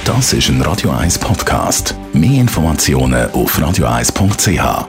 Das ist ein Radio 1 Podcast. Mehr Informationen auf radio1.ch.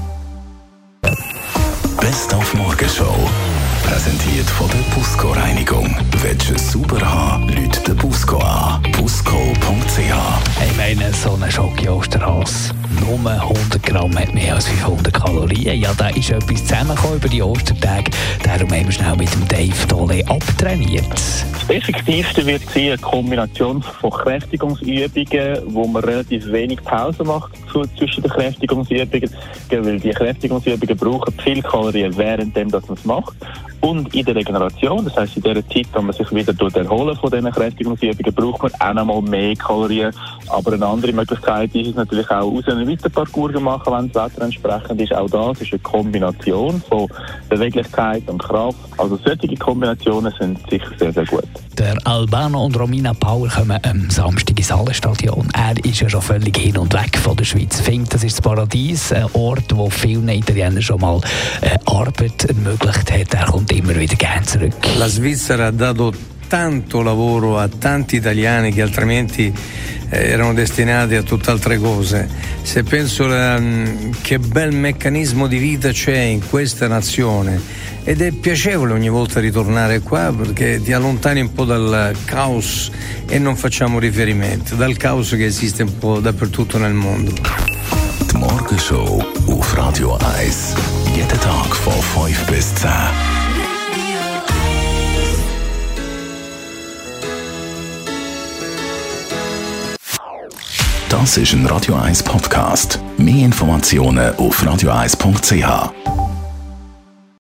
Best auf Morgenshow. Präsentiert von der Busco Reinigung. Willst du es sauber haben, Leute den Busco an. Busco.ch. Ich meine, so ein Schoki-Osterhase, nur 100 Gramm hat mehr als 500 Kalorien. Ja, da ist etwas zusammengekommen über die Ostertage. Darum haben wir schnell mit dem Dave Dolle abtrainiert. Das Effektivste wird sein eine Kombination von Kräftigungsübungen, wo man relativ wenig Pause macht zwischen den Kräftigungsübungen, weil die Kräftigungsübungen brauchen viel Kalorien währenddem, dass man es macht. Und in der Regeneration, das heisst in der Zeit, wenn man sich wieder erholen von diesen Kräftigungsübungen, braucht man auch noch mal mehr Kalorien. Aber eine andere Möglichkeit ist es natürlich auch, aus einem Weiterparcours zu machen, wenn das Wetter entsprechend ist. Auch das ist eine Kombination von Beweglichkeit und Kraft. Also solche Kombinationen sind sicher sehr, sehr gut. Der Albano und Romina Power kommen am Samstag ins Hallenstadion. Er ist ja schon völlig hin und weg von der Schweiz. Findet, das ist das Paradies, ein Ort, wo vielen Italienern schon mal Arbeit ermöglicht hat. Er kommt immer wieder gerne zurück. La Svizzera ha dato tanto lavoro a tanti italiani che altrimenti erano destinati a tutt'altre cose. Se penso che bel meccanismo di vita c'è in questa nazione, ed è piacevole ogni volta ritornare qua perché ti allontani un po' dal caos e non facciamo riferimento, dal caos che esiste un po' dappertutto nel mondo. Die Morgenshow auf Radio 1. Jeden Tag von 5 bis 10. Das ist ein Radio 1 Podcast. Mehr Informationen auf radio1.ch.